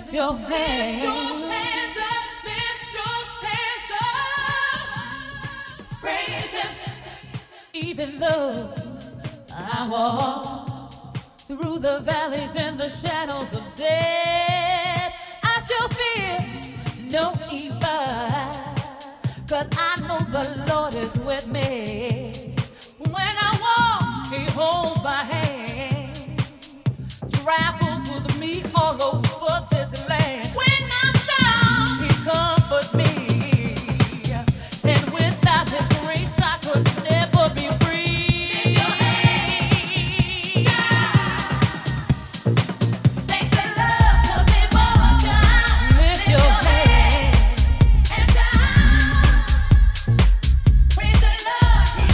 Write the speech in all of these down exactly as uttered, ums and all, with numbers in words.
lift your hands. Lift your hands up, lift your hands up. Praise Him. Even though I walk through the valleys and the shadows of death, I shall fear no evil, 'cause I know the Lord is with me. When I walk, He holds my hand, travels with me all over this land. When I'm down, He comforts me, and without His grace I could never be free. Praise the Lord.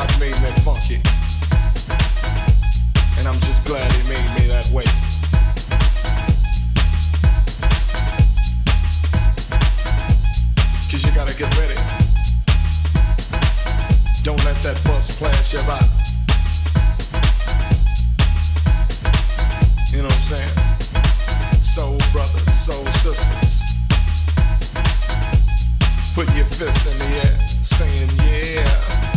God made me funky, and I'm just glad He made me that way. Cause you gotta get ready. Don't let that bus flash you by. You know what I'm saying? Soul brothers, soul sisters, put your fists in the air, saying yeah.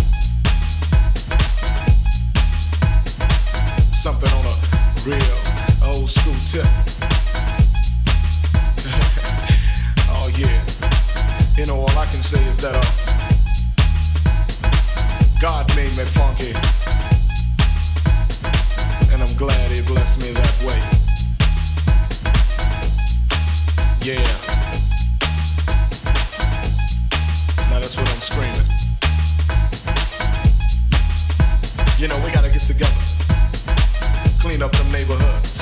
Something on a real old school tip. Oh yeah. You know, all I can say is that uh, God made me funky, and I'm glad He blessed me that way. Yeah. Now that's what I'm screaming. You know, we gotta get together, clean up them neighborhoods,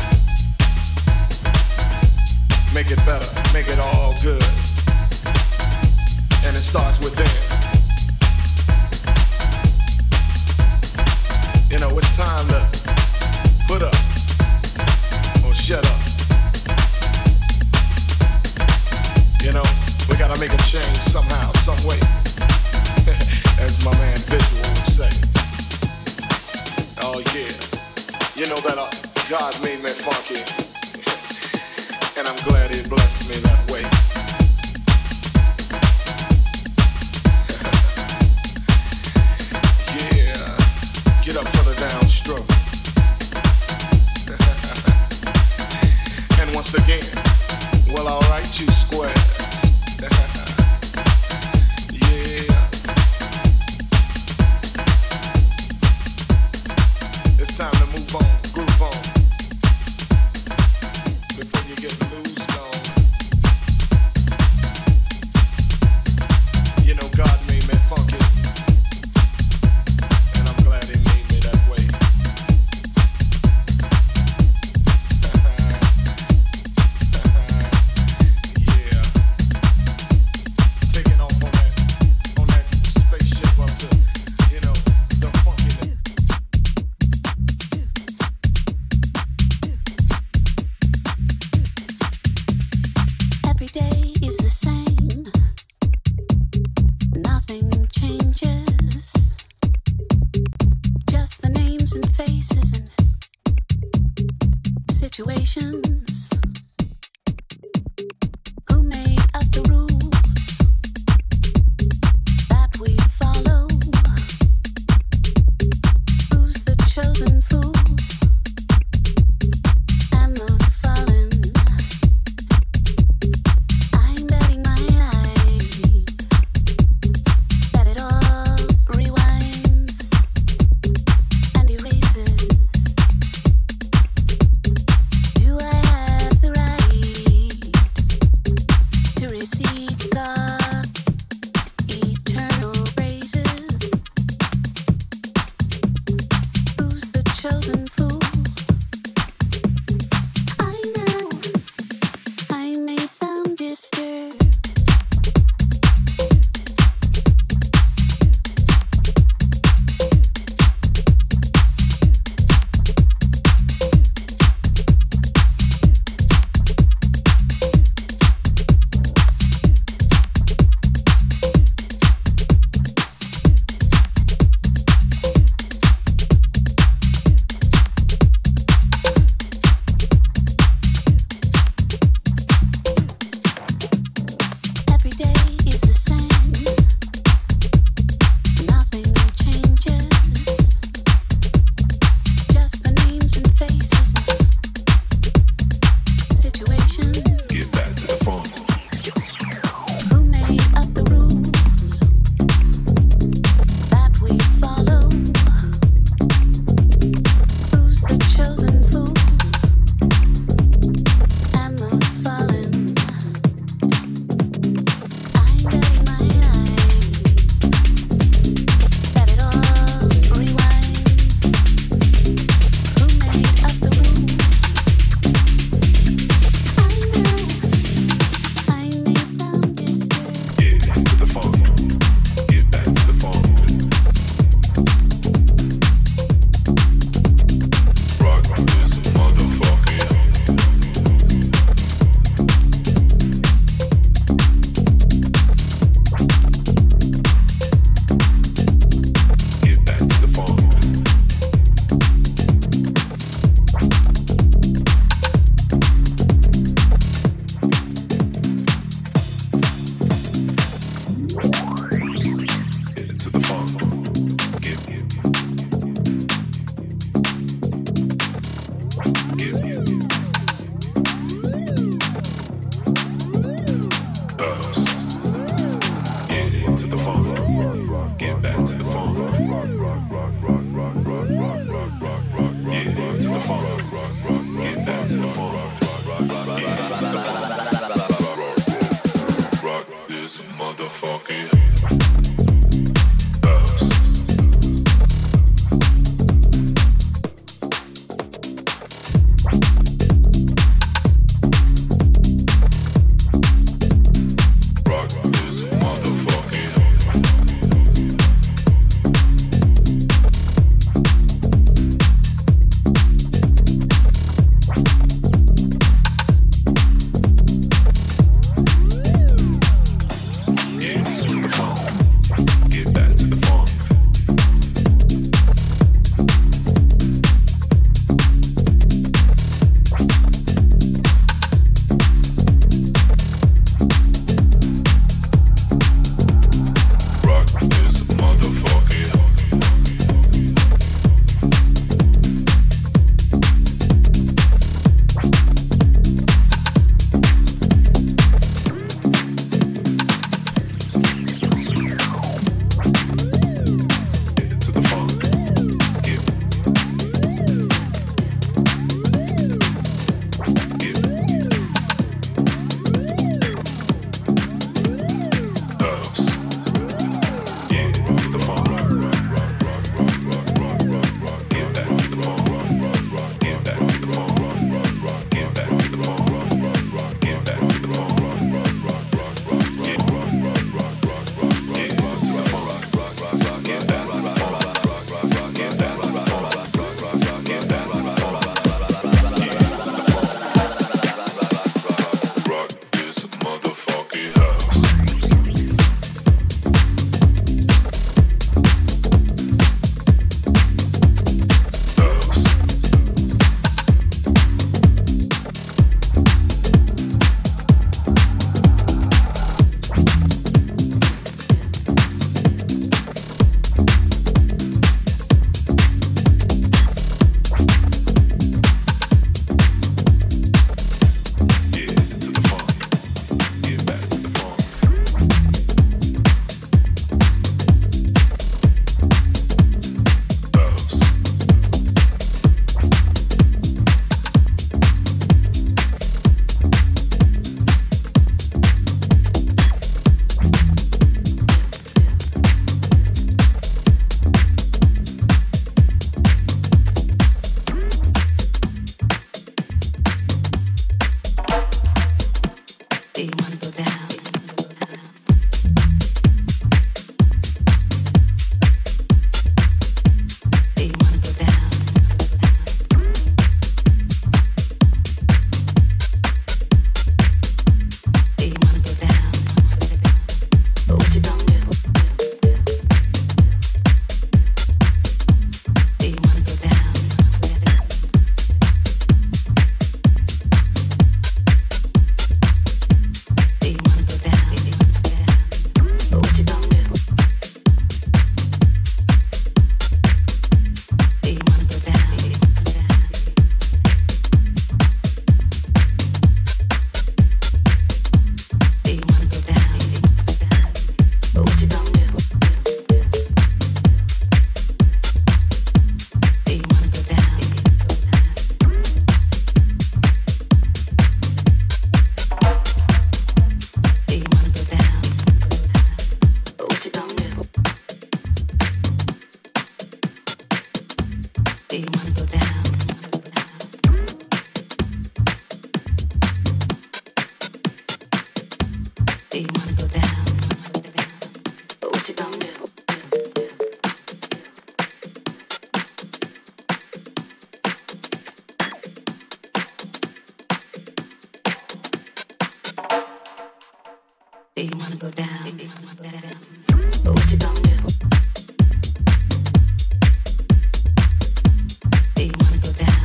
make it better, make it all good. And it starts within. You know, it's time to put up or shut up. You know, we gotta make a change somehow, some way. As my man Visual would say. Oh yeah. You know that uh, God made me funky. And I'm glad He blessed me that way. Get up for the downstroke. And once again, well, alright, you squares. Yeah. It's time to move on, groove on. Before you get loose on. this motherfucking house. Rock this motherfucking get back to the funk. Rock this motherfucking get to the funk. Get get house. Yeah, to the funk. Rock, rock, rock, rock, rock, rock, rock. Get back to the funk. Rock, rock, rock. Get back to the funk. Rock, rock, rock. Get back to the funk. Rock, rock, rock. Get back to the funk. Rock, rock, rock, rock, rock, rock. Get rock, rock, rock, rock, rock, rock. Get back to the funk. Rock, rock, rock, rock. Get back to the funk. Rock, rock, rock, rock. Get back to the funk. Rock, rock, rock. Get back to the funk. Rock this motherfucking house. House. Yeah, to the funk. Get back to the funk. House. Do you wanna go down? Do you wanna go down? Do you wanna go down? But what you gonna do? Do you wanna go down? Do you wanna go down? But what you gonna do? Do you wanna go down? Do you wanna go down? But what you gonna do? Do you wanna go down? Do you wanna go down? But what you gonna do? Do you wanna go down? Do you wanna go down? But what you gonna do? Do you wanna go down? But what you gonna do? Do you wanna go down?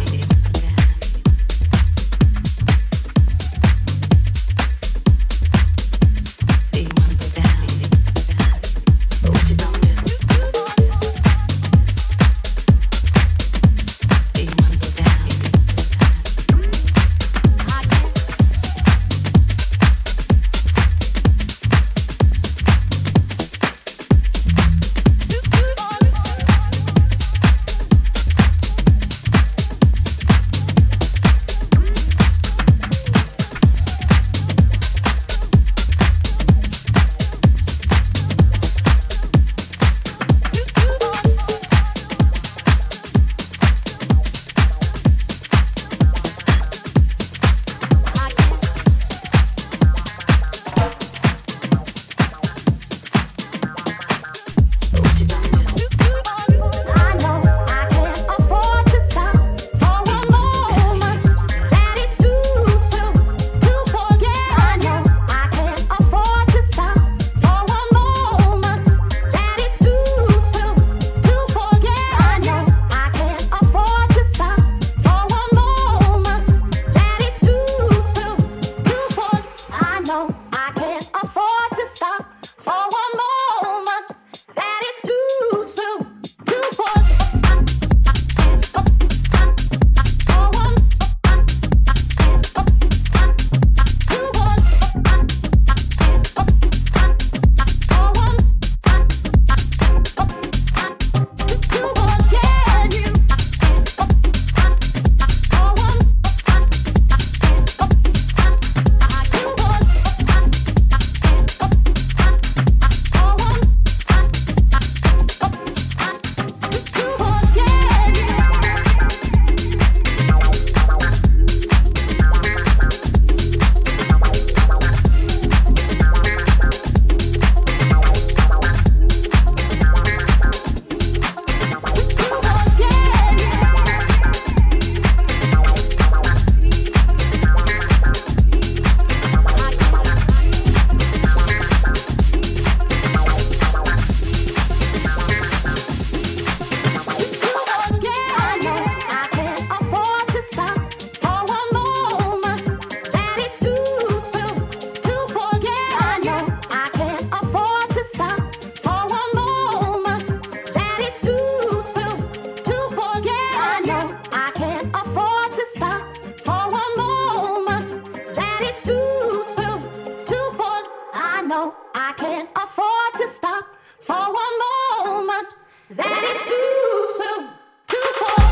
Do you wanna go down? But what you gonna do? Do you wanna go down? know I can't afford to stop for one moment. That it's too soon, too far.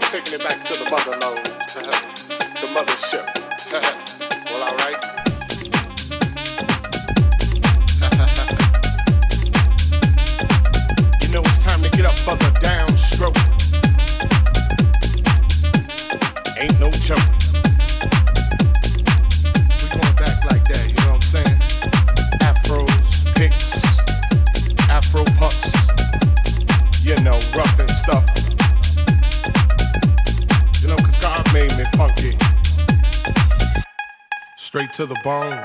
taking it back to the mother load, the mothership. Well, all right. You know it's time to get up for the downstroke. Ain't no joke. We going back like that, you know what I'm saying? Afros, picks, Afro puffs, you know, rough and stuff. You know, cause God made me funky. Straight to the bone.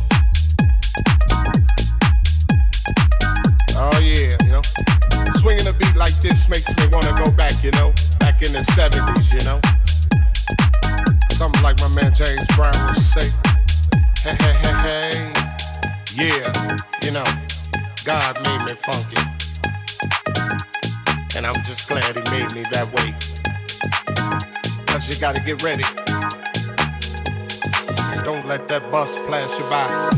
Oh yeah, you know. Swinging a beat like this makes me wanna go back, you know. Back in the seventies, you know. Something like my man James Brown would say. Hey, hey, hey, hey. Yeah, you know, God made me funky. And I'm just glad he made me that way. Cause you gotta get ready. Don't let that bus pass you by.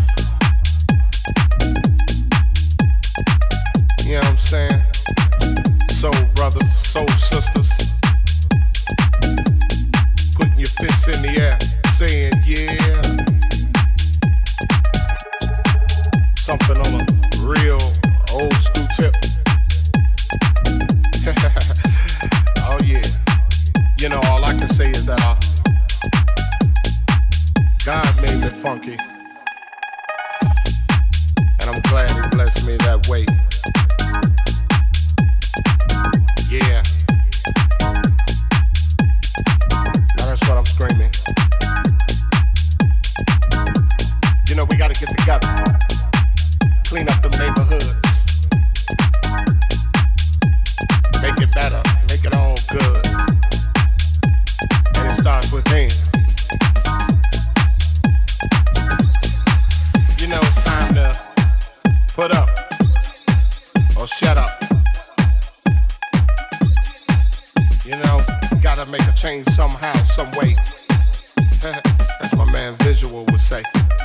You know what I'm saying? Soul brothers, soul sisters. Putting your fists in the air, saying yeah. Something on a real old school tip. Oh yeah. You know, all I can say is that uh, God made me funky. And I'm glad he blessed me that way. Yeah. Now that's what I'm screaming. You know, we gotta get together. Clean up them neighborhoods. Make it better. Make it all good. And it starts within. You know, it's time to put up or shut up. You know, gotta make a change somehow, some way. That's my man Visual would say.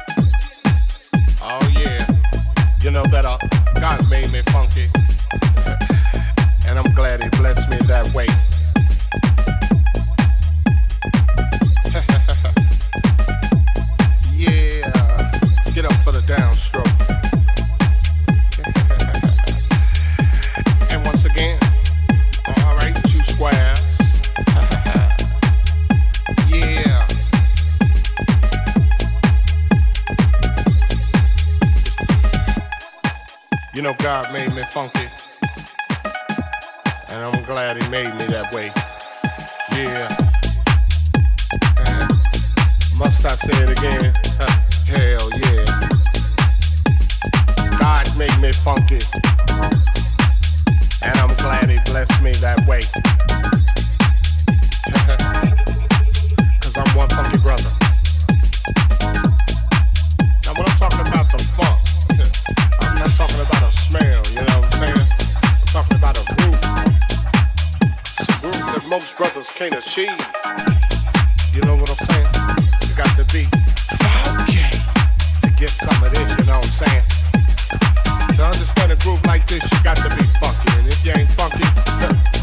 Oh yeah, you know that uh, God made me funky. And I'm glad he blessed me that way. Yeah, get up for the downstroke. And once again, all right, two squares. Yeah. You know God made me funky. And I'm glad he made me that way. Yeah. Uh, must I say it again? Uh, hell yeah. God made me funky. And I'm glad he blessed me that way. Cause I'm one funky brother. Now when I'm talking about the funk, I'm not talking about a smell, you know what I'm saying? I'm talking about a groove. It's a groove that most brothers can't achieve. You know what I'm saying? You got to be funky to get some of this, you know what I'm saying? To understand a groove like this, you got to be funky. And if you ain't funky,